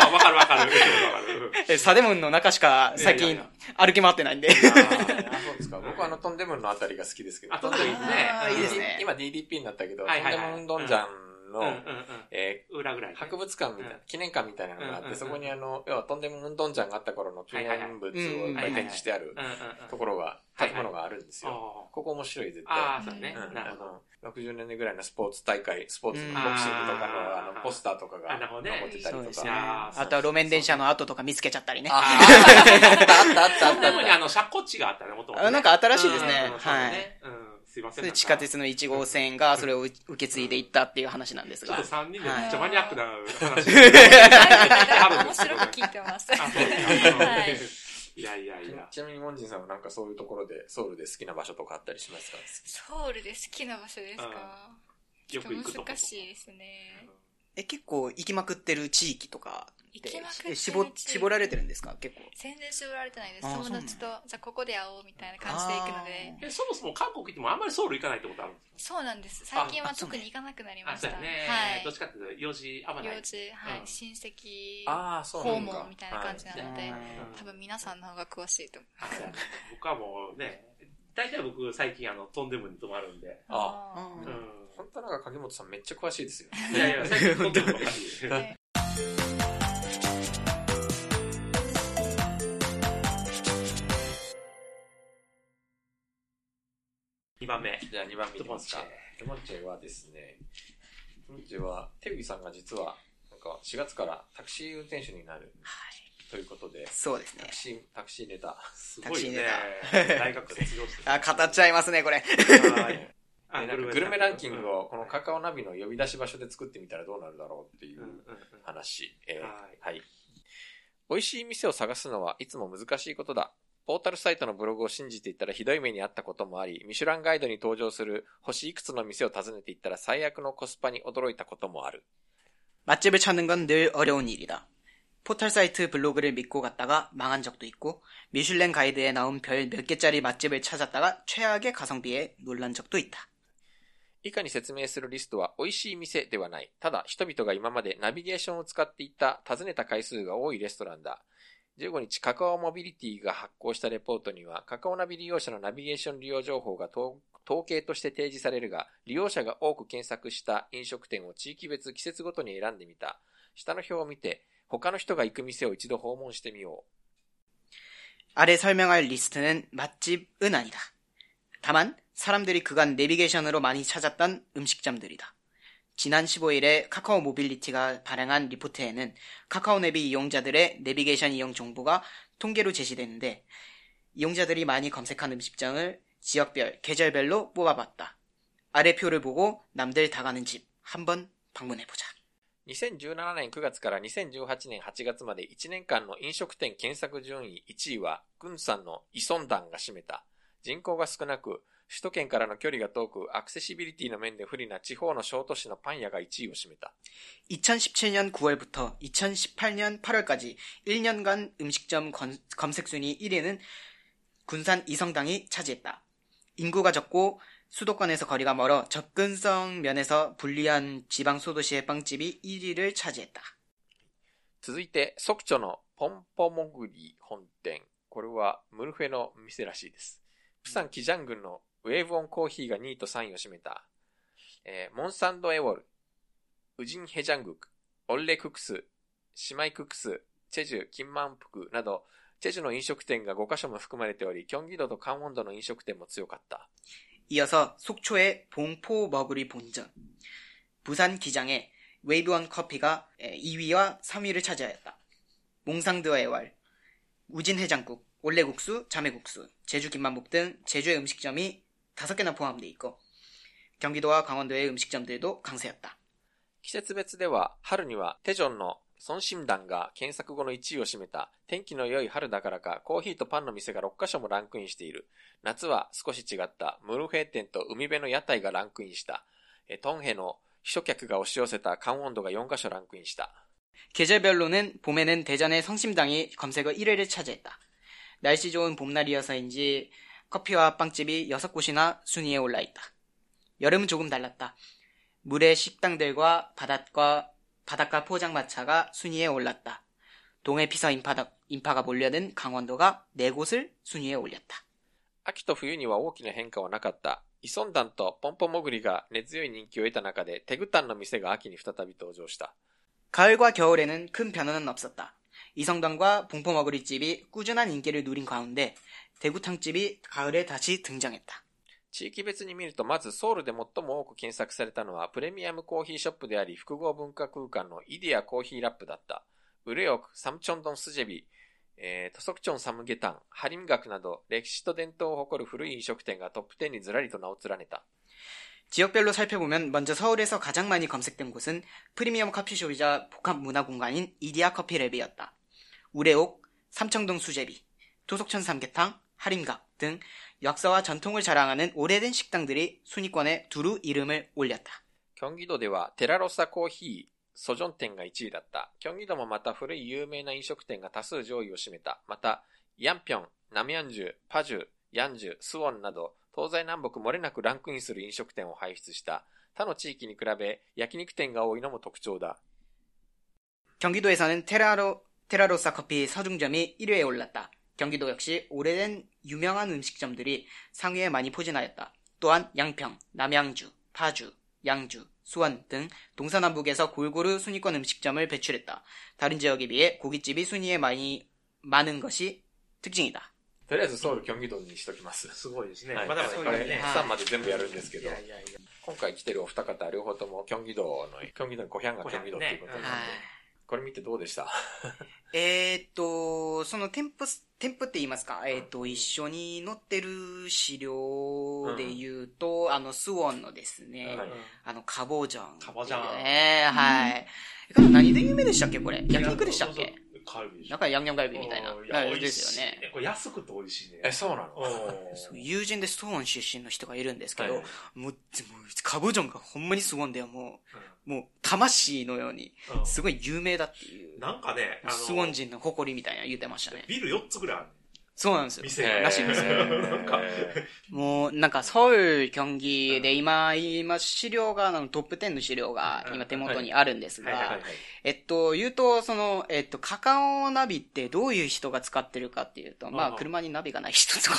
わかるわかる。 え、サデムンの中しか最近歩き回ってないんで。 そうですか。僕はあのトンデムンのあたりが好きですけど。 あ、トンデムンね。 いいですね。 今 ディーディーピー になったけど、トンデムンドンジャンの、 うんうんうんえー、 裏ぐらい、ね、 博物館みたいな、うん、記念館みたいなのがあって、うんうんうん、そこにあの、要はトンデムンドンジャンがあった頃の記念物をいっぱい展示してあるところが、建物があるんですよ。はいはい、ここ面白い、絶対。 ああ、そうね。 うん、なるほど。ろくじゅうねんぐらいのスポーツ大会、スポーツ、ボクシングとかのあのポスターとかが残ってたりとか。 ね、あとは路面電車の跡とか見つけちゃったりね。 あったあったあった。 でもね、あの、車庫地があったね、もともと。 なんか新しいですね。はい。 すいません。 地下鉄のいち号線がそれを受け継いでいったっていう話なんですが。 ちょっとさんにんでめっちゃマニアックな話。 面白く聞いてます。はい。 いやいやいや。 ちなみにモンジンさんはなんかそういうところでソウルで好きな場所とかあったりしますか？ ソウルで好きな場所ですか？ よく行くとこ。 難しいですね。 え、結構行きまくってる地域とか行きまくってる絞絞られてるんですか？結構全然絞られてないです。友達とじゃあここで会おうみたいな感じで行くので。 え、そもそも韓国行ってもあんまりソウル行かないってことあるんですか？ そうなんです。最近は特に行かなくなりました。 そうね。はい。どっちかっていうと用事あんまない。 用事、はい、うん、親戚訪問みたいな感じなので、多分皆さんの方が詳しいと思います。 僕はもうね、大体僕最近あのトンデムに泊まるんで。 ああ。うん。本当なんか影本さんめっちゃ詳しいですよ。 いやいや、最近トンデムばっかり。にばんめ。 じゃあにばんめいきますか。トモンチェはですね、トモンチェは、テグギさんが実は、なんかしがつからタクシー運転手になる。はい。ということで。 そうですね。 タクシー、タクシーネタ。 すごいね。大学卒業して。 あ、語っちゃいますね、これ。 はい。なんかグルメランキングをこのカカオナビの呼び出し場所で作ってみたらどうなるだろうっていう話。えー、はい。美味しい店を探すのはいつも難しいことだ。ポータルサイトのブログを信じていったらひどい目にあったこともあり、ミシュランガイドに登場する星いくつの店を訪ねていったら最悪のコスパに驚いたこともある。 맛집을 찾는 건 늘 어려운 일이다. 포털 사이트 블로그를 믿고 갔다가 망한 적도 있고, 미슐랭 가이드에 나온 별 몇 개짜리 맛집을 찾았다가 최악의 가성비에 놀란 적도 있다. 以下に説明するリストは美味しい店ではない。ただ人々が今までナビゲーションを使っていた訪ねた回数が多いレストランだ。じゅうごにちカカオモビリティが発行したレポートにはカカオナビ利用者のナビゲーション利用情報が統計として提示されるが、利用者が多く検索した飲食店を地域別季節ごとに選んでみた。下の表を見て他の人が行く店を一度訪問してみよう。 아래 설명할 리스트는 맛집은 아니다. 다만 사람들이 그간 내비게이션으로 많이 찾았던 음식점들이다. 지난 십오일에 카카오 모빌리티가 발행한 리포트에는 카카오 내비 이용자들의 내비게이션 이용 정보가 통계로 제시되는데 이용자들이 많이 검색한 음식점을 지역별, 계절별로 뽑아봤다. 아래 표를 보고 남들 다 가는 집 한번 방문해보자. にせんじゅうななねんくがつからにせんじゅうはちねんはちがつまでいちねんかんの飲食店検索順位いちいは軍産のイソンダンが占めた。人口が少なく首都圏からの距離が遠くアクセシビリティの面で不利な地方の小都市のパン屋がいちいを占めた。 이천십칠년 구월부터 이천십팔년 팔월까지 일 년간 음식점 검색 순위 일 위는 군산 이성당이 차지했다. 인구가 적고 수도권에서 거리가 멀어 접근성 면에서 불리한 지방 소도시의 빵집이 일 위를 차지했다. 続いてソクチョのポンポモグリ本店。これはムルフェの店らしいです。プサンキジャン郡のウェーブオンコーヒーがにいとさんいを占めた、えー、モンサンドエウォル、ウジンヘジャングク、オッレククス、シマイククス、チェジュ、キンマンプクなど、チェジュの飲食店がごカ所も含まれており、キョンギ道とカンウォン道の飲食店も強かった。 이어서 속초의 봉포 머구리 본점, 부산 기장의 웨이브원 커피가 이 위와 삼 위를 차지하였다. 몽상드 애월, 우진 해장국, 올레국수, 자매국수, 제주 김만복 등 제주의 음식점이 다섯 개나 포함되어 있고 경기도와 강원도의 음식점들도 강세였다. 季節別では春にはテジョンのソンシムダンが検索後のいちいを占めた。天気の良い春だからかコーヒーとパンの店がろっカ所もランクインしている。夏は少し違ったムルフェ店と海辺の屋台がランクインした。トンヘの秘書客が押し寄せたカンウォンドがよんカ所ランクインした。 계절별로는 봄에는 대전의 성심당이 검색어 일 위를 차지했다. 날씨 좋은 봄날이어서인지 커피와 빵집이 여섯 곳이나 순위에 올라있다. 여름은 조금 달랐다. 물의 식당들과 바닷가, 바닷가 포장마차가 순위에 올랐다. 동해 피서 인파다, 인파가 몰려든 강원도가 네 곳을 순위에 올렸다. 秋と冬には大きな変化はなかった。 イソンダンとポンポモグリが根強い人気を得た中でテグタンの店が秋に再び登場した。 가을과 겨울에는 큰 변화는 없었다. 이성당과 봉포머구리집이 꾸준한 인기를 누린 가운데 대구탕집이 가을에 다시 등장했다. 地域別に見ると、まずソウルで最も多く検索されたのはプレミアムコーヒーショップであり複合文化空間のイディアコーヒーラップだった。ウレオク、サムチョンドンスジェビ、えー、トソクチョンサムゲタン、ハリムガクなど歴史と伝統を誇る古い飲食店がトップじゅうにずらりと名を連ねた。 지역별로 살펴보면 먼저 서울에서 가장 많이 검색된 곳은 프리미엄 커피숍이자 복합 문화 공간인 이디아 커피랩이었다. 우레옥, 삼청동 수제비, 도속천 삼계탕, 하림각 등 역사와 전통을 자랑하는 오래된 식당들이 순위권에 두루 이름을 올렸다. 경기도ではテラロサコーヒーソジョン店がいちいだった。京畿道もまた古い有名な飲食店が多数上位を占めた。またヤンピョン、ナムヤンジュ、パジュ、ヤンジュ、スウォンなど東西南北漏れなくランクインする飲食店を輩出した。他の地域に比べ焼肉店が多いのも特徴だ。 경기도에서는 테라로, 테라로사 커피 서중점이 일 위에 올랐다. 경기도 역시 오래된 유명한 음식점들이 상위에 많이 포진하였다. 또한 양평, 남양주, 파주, 양주, 수원 등 동서남북에서 골고루 순위권 음식점을 배출했다. 다른 지역에 비해 고깃집이 순위에 많이 많은 것이 특징이다. とりあえずソウル京畿道にしときます。 すごいですね。 はい、 まだまだこれさんまで全部やるんですけど、 いやいやいや今回来てるお二方両方とも京畿道の京畿道のコヒャンが京畿道っていうことなんで、 はい、 これ見てどうでした？ えーっと、その添付、添付って言いますか、えーっと、一緒に載ってる資料で言うと、うん、あの、スウォンのですね、はい、あの、カボジャン。 カボジャン。 ね、はい。うん、何で有名でしたっけこれ。焼肉でしたっけ？ カルビでしょ。 なんかヤンニョンカルビみたいな。 いや、 ですよね。 これ安くて美味しいね。 え、そうなの？ そう友人でスウォン出身の人がいるんですけど、はい、もう、もうカボジョンがほんまにスウォンではもう、うん、もう、魂のように、すごい有名だっていう。 うん、なんかね、 あのー、スウォン人の誇りみたいな言ってましたね。 ビルよっつぐらいある。 そうなんですよ。 店らしいですよ。なんかもう、なんか、ソウル、京畿で今、今、資料が、あの、トップじゅうの資料が今手元にあるんですが、えっと、言うと、その、えっと、カカオナビってどういう人が使ってるかっていうと、まあ、車にナビがない人とか、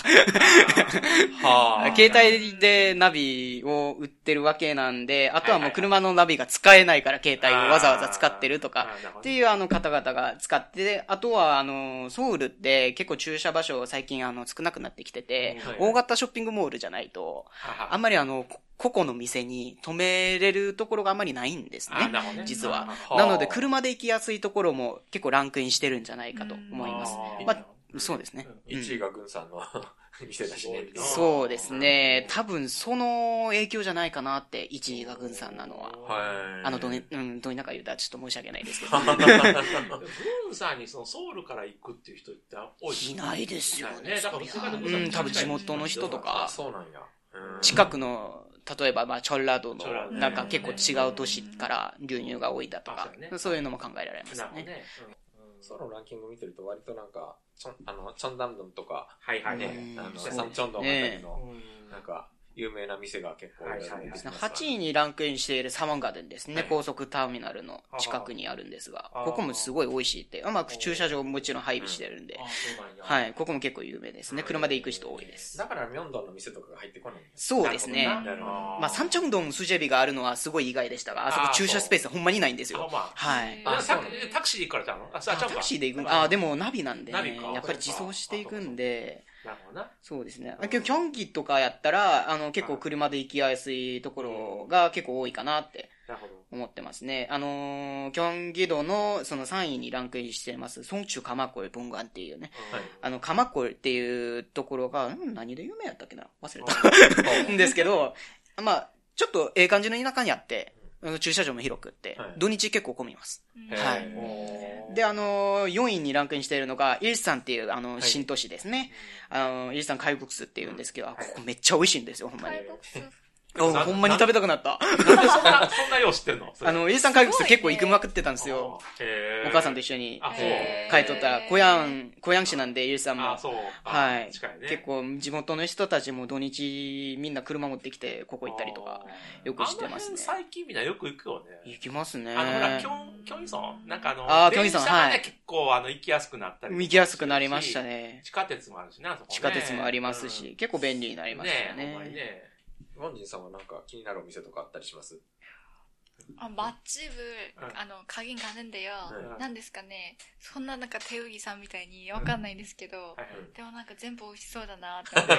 携帯でナビを売ってるわけなんで、あとはもう車のナビが使えないから携帯をわざわざ使ってるとか、っていうあの方々が使って、あとはあの、ソウルって結構駐車場所最近あの少なくなってきてて、はいはい、大型ショッピングモールじゃないと、あんまりあの、個々の店に止めれるところがあんまりないんですね。ね実は。なので車で行きやすいところも結構ランクインしてるんじゃないかと思います。まあ、そうですね。 いちいが軍さんの店だしね。 そうですね。多分その影響じゃないかなって、いちいが軍さんなのは。 はい。 あの、ど、うん、どうにか言うたらちょっと申し訳ないですけど。 軍さんにそのソウルから行くっていう人って多い？ いないですよね。 だからうん、多分地元の人とか。 そうなんや。 近くの、例えば、まあ、チョンラドの、なんか結構違う都市から流入が多いだとか、そういうのも考えられますね。 ソウルのランキング見てると割となんか、チョン、あの、チョンダンドンとか、 はいはいね、 あの、サンチョンドンあたりの、なんか、有名な店が結構いるんですね。 はちいにランクインしているサワンガーデンですね。はい、高速ターミナルの近くにあるんですが、ここもすごい美味しいって、うまく駐車場ももちろん配備してるんで、はい、ここも結構有名ですね。車で行く人多いです。 だからミョンドンの店とかが入ってこないんですそうですね。まあ、サンチョンドンスジェビがあるのはすごい意外でしたが、あそこ駐車スペースほんまにないんですよ。はい。 タクシーで行くからちゃうの？ タクシーで行くんあ、でもナビなんでね、やっぱり自走していくんで、 なるほどな。 そうですね。キョンギとかやったら、あの、結構車で行きやすいところが結構多いかなって思ってますね。あのー、キョンギ道のそのさんいにランクインしてます、ソンチュカマコル文岩っていうね、はい、あの、カマコルっていうところが、ん何で有名やったっけな忘れた。んですけど、まあちょっとええ感じの田舎にあって、駐車場も広くって、はい、土日結構混みます。はい。で、あのー、よんいにランクインしているのが、イルサンっていう、あの、はい、新都市ですね。あの、イルサン海国スっていうんですけど、はい、ここめっちゃ美味しいんですよ、ほんまに。おほんまに食べたくなった。 なんでそんな、そんなよう知ってんのあの、イルサン海国ス結構行くまくってたんですよ。お母さんと一緒に。帰っとったら、コヤン、コヤン市なんで、イルサンも。 あ、そう。 はい。近いね。結構、地元の人たちも土日、みんな車持ってきて、ここ行ったりとか、よくしてますね。 最近みんなよく行くよね。 行きますね。 あの、ほら、キョン、キョンイソンなんかあの、 あ、キョンイソン、はい。 結構、あの、行きやすくなったり。 行きやすくなりましたね。 地下鉄もあるしな、そこね。 地下鉄もありますし、結構便利になりましたね。 ね、ほんまにね。 ワンジンさんはなんか気になるお店とかあったりします？ 아 맛집을 아の 가긴 가는데요.なんですかね。そんななんか手うぎさんみたいにわかんないんですけど、でもなんか全部美味しそうだなって思って。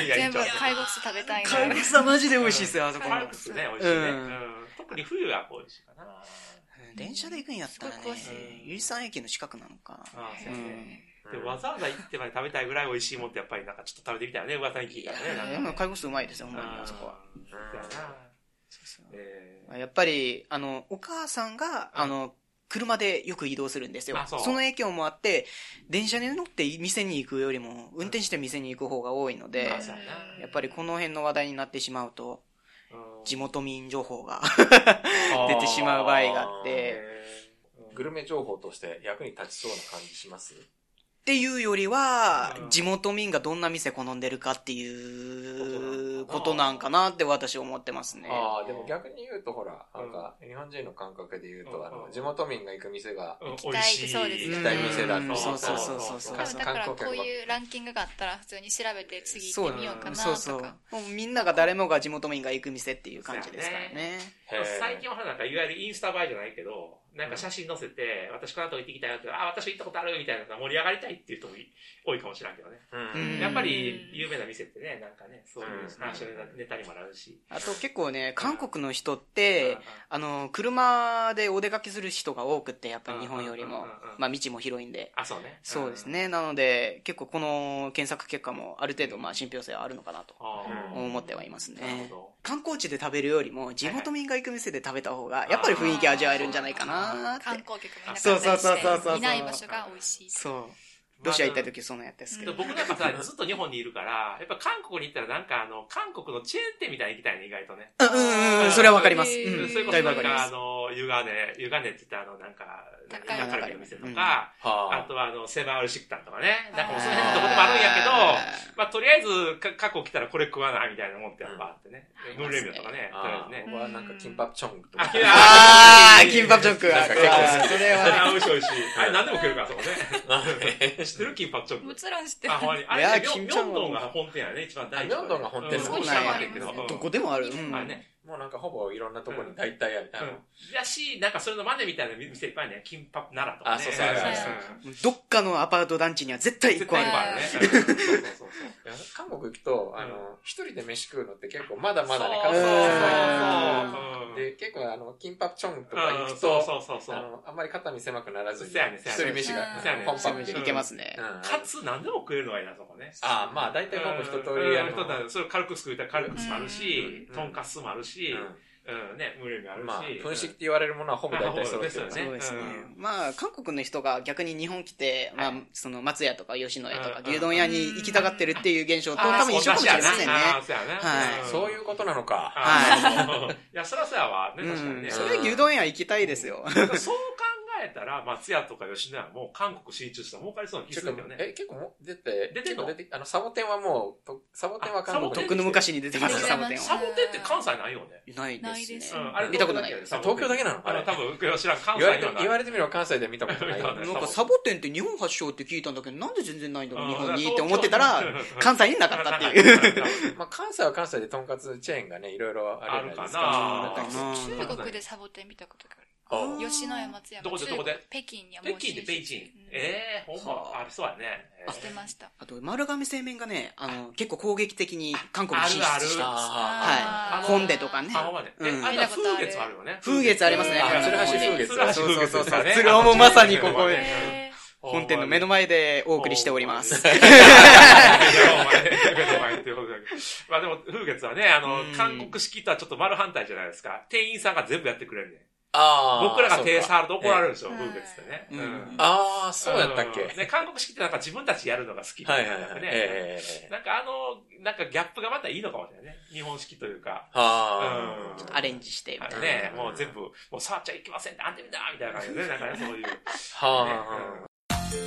全部貝国食べたいな。 貝国はマジで美味しいですよ、あそこ。 貝国ね、美味しいね。特に冬は美味しいかな。 電車で行くんやったらね、由利山駅の近くなのか。 でわざわざ行ってまで食べたいぐらい美味しいもんってやっぱりなんかちょっと食べてみたいよね、噂に聞いたらね。 貝国うまいですよ、ほんまにあそこは。 そうえー、やっぱりあのお母さんが、うん、あの車でよく移動するんですよ。 そ, その影響もあって電車に乗って店に行くよりも運転して店に行く方が多いので、うん、やっぱりこの辺の話題になってしまうと、うん、地元民情報が出てしまう場合があって、 グルメ情報として役に立ちそうな感じします？ っていうよりは、うん、地元民がどんな店好んでるかっていうことなんかなって私は思ってますね。 ああ、でも逆に言うとほら、なんか日本人の感覚で言うと、うん、あの地元民が行く店が美味しい、そうです、 行きたい店だと、うん、 そうそうそうそうそう。 だからこういうランキングがあったら普通に調べて次行ってみようかなとか。 そうそう。もうみんなが誰もが地元民が行く店っていう感じですからね。 最近はなんかいわゆるインスタ映えじゃないけど、なんか写真載せて、私この後行ってきたよって、あ、私行ったことあるみたいな盛り上がりたいっていう人も多いかもしれんけどね。うん、やっぱり有名な店ってね、なんかね、そういう話のネタにもなるし。 あと結構ね、韓国の人って、あの、車でお出かけする人が多くって、やっぱり日本よりも、まあ道も広いんで。 あ、そうね。 そうですね。なので、結構この検索結果もある程度、まあ信憑性はあるのかなと思ってはいますね。観光地で食べるよりも、地元民が行く店で食べた方が、やっぱり雰囲気味わえるんじゃないかなって。 観光客もいなかったりして、 そうそうそうそうそう。 いない場所が美味しい。 そう。ロシア行った時そんなやったんですけど、 僕なんかさずっと日本にいるからやっぱ韓国に行ったらなんかあの韓国のチェーン店みたいに行きたいね意外とね。 うんうんうん、それはわかります。 うん、それこそなんかあの湯金湯金って言ったあのなんか中カルビの店とか、あとはあのセバールシクタンとかね、なんかもうその辺どこでもあるんやけど、まあとりあえず過去来たらこれ食わないみたいなもんってやっぱあってね。ムーンレミオとかね、とりあえずね。 僕はなんかキンパプチョンとか。 ああ、キンパプチョンク。 なんか結構それは美味しい美味しい。あれ何でも食えるからそこね。知ってるキンパプチョンク。 もちろん知ってる。 あ、ほんまに。あれ、ミョンドンが本店やね、一番大事。 ミョンドンが本店。 そうなんやけど。 どこでもある。 あれね。 もうなんかほぼいろんなところに大体ある。 やし、なんかそれの真似みたいな店いっぱいね、キンパ奈良とかね。 あ、そうそうそう。どっかのアパート団地には絶対一個あるからね。そうそうそう。 韓国行くと、あの、一人で飯食うのって結構まだまだね、 そうそう。で、結構あの、キンパプチョンとか行くと、あの、あんまり肩身狭くならずに、一人飯がポンポンいけますね。 かつ何でも食えるのがいいな、そこね。 あ、まあ大体ほぼ一通りやる。 それ軽く作ったら軽くもあるし、とんかつもあるし、うんね、無理もあるし。 まあ、分子って言われるものはほぼ大体そうですよね。 そうですね。まあ、韓国の人が逆に日本来て、まあ、その松屋とか吉野家とか牛丼屋に行きたがってるっていう現象と多分一緒かもしれませんね。 はい。 そういうことなのか。 はい。いや、そらそうやわ。ね、確かにね。 それ牛丼屋行きたいですよ。 そう考えたら、松屋とか吉野家も韓国進出したら儲かりそうな気するけどね。 え、結構も出て、 出てんの？ あの、サボテンはもう、サボテンは韓国。 とっくの昔に出てますサボテンは。 サボテンって関西ないよね。 ないですね。 あれ見たことない。 東京だけなの？ あれ多分、知らん。関西には言われてみれば関西で見たことない。 なんかサボテンって日本発祥って聞いたんだけど、なんで全然ないんだろう、日本にって思ってたら、関西になかったっていう。 まあ関西は関西でとんかつチェーンがね、いろいろあるじゃないですか。 中国でサボテン見たことがある。吉野家松屋。 どこでどこで？ 北京にはもう北京で北京。ええ、ほんま、ありそうやね。 してました。 あと、丸亀製麺がね、あの、結構攻撃的に韓国に進出してます。 はい。 本でとかね。 あ、ほんまね。え、あれは風月あるよね。 風月ありますね。 鶴橋風月。 そうそうそうそう。鶴尾もまさにここで。本店の目の前でお送りしております。 まあでも、風月はね、あの、韓国式とはちょっと丸反対じゃないですか。店員さんが全部やってくれるね。僕らが手触ると怒られるんですよ、風月ってね。 ああ、そうやったっけ？ ね、韓国式ってなんか自分たちやるのが好き。はいはいはい。なんかあの、なんかギャップがまたいいのかもしれないね。日本式というか。 アレンジしてみたいな。 ね、もう全部、もう触っちゃいけませんって、あんてみだみたいな感じでね、なんかね、そういう。 はあ。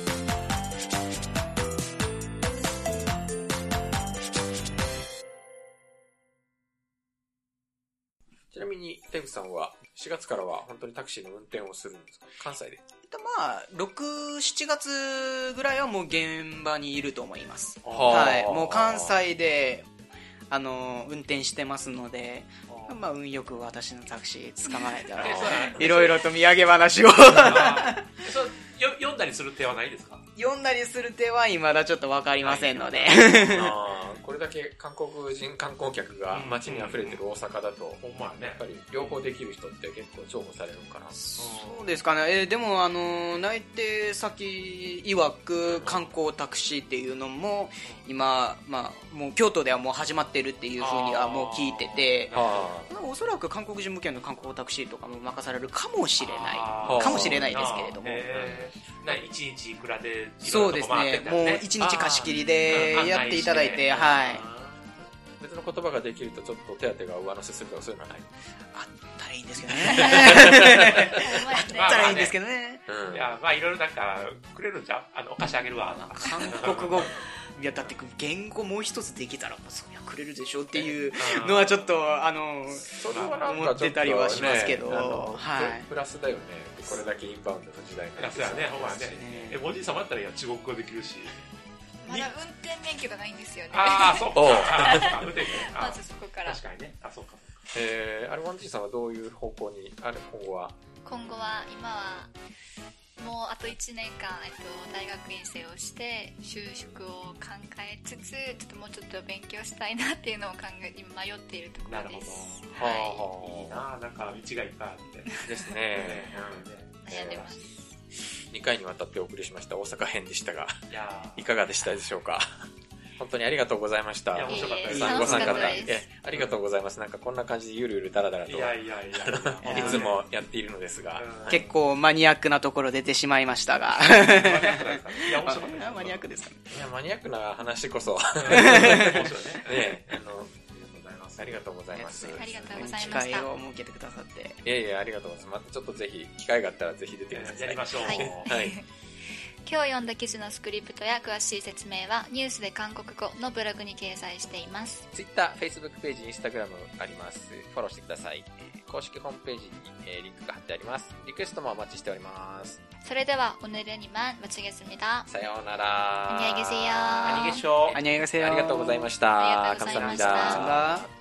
ちなみに、テグさんはしがつからは本当にタクシーの運転をするんですか？関西で。 まあ、ろく、しちがつぐらいはもう現場にいると思います。はい。もう関西で、 あの運転してますので、まあ、運よく私のタクシー捕まえたらいろいろと土産話をそうよ読んだりする手はないですか？ 読んだりする手は未だちょっと分かりませんので、 あこれだけ韓国人観光客が街に溢れてる大阪だと、 ほんまやね、 やっぱり両方できる人って結構重宝されるかな。 そうですかね、えー、でもあの内定先曰く観光タクシーっていうのも今、まあ、もう京都ではもう始まってるっていうふうにはもう聞いてて、おそらく韓国人向けの観光タクシーとかも任されるかもしれないかもしれないですけれども、 いちにちいくらでそうですね、もういちにち貸し切りでやっていただいて、はい、 別の言葉ができるとちょっと手当が上乗せするとかそういうのはない？ あったらいいんですけどねあったらいいんですけどね、 いや、まあいろいろなんかくれるんじゃん、あのお菓子あげるわ、 韓国語いやだって言語もう一つできたらそりゃくれるでしょっていうのはちょっとあのそれはなんか思ってたりはしますけど、 ね、 はい、 プラスだよね、これだけインバウンドの時代になってさ、ね、ほんまね、えおじいさまだったら中国語できるし、 まだ運転免許がないんですよね。 ああ、そうか。 まずそこから。 確かにね。あ、そうか。 えー、アルワンジーさんはどういう方向に、あれ、今後は今後は、今は、もうあといちねんかん、えっと、大学院生をして、就職を考えつつ、ちょっともうちょっと勉強したいなっていうのを考え、今迷っているところです。 なるほど。はい。いいな、なんか道がいっぱいあって。 ですね。 悩んでます。 にかいにわたってお送りしました大阪編でしたが、いやいかがでしたでしょうか？本当にありがとうございました。 いや、面白かったです。 ご参加いたありがとうございます。なんかこんな感じでゆるゆるだらだらと、いやいやいやいつもやっているのですが、 結構マニアックなところ出てしまいましたが、 マニアックですかね。いや、面白かった。 マニアックですかね。 いや、マニアックな話こそ。 面白いね。 ね、あの、ありがとうございます。 ありがとうございました。 機会を設けてくださって。 いやいや、ありがとうございます。またちょっとぜひ、機会があったらぜひ出てください。 やりましょう。 はい。 はい、 今日読んだ記事のスクリプトや詳しい説明はニュースで韓国語のブログに掲載しています。 Twitter、Facebook ページ、Instagram あります。フォローしてください。公式ホームページに、えー、リンクが貼ってあります。リクエストもお待ちしております。 それでは오늘은이만마치겠습니다。 さようなら。 안녕히 계세요。 안녕히 계세요。 안녕히 계세요。 ありがとうございました。 ありがとうございました。 감사합니다。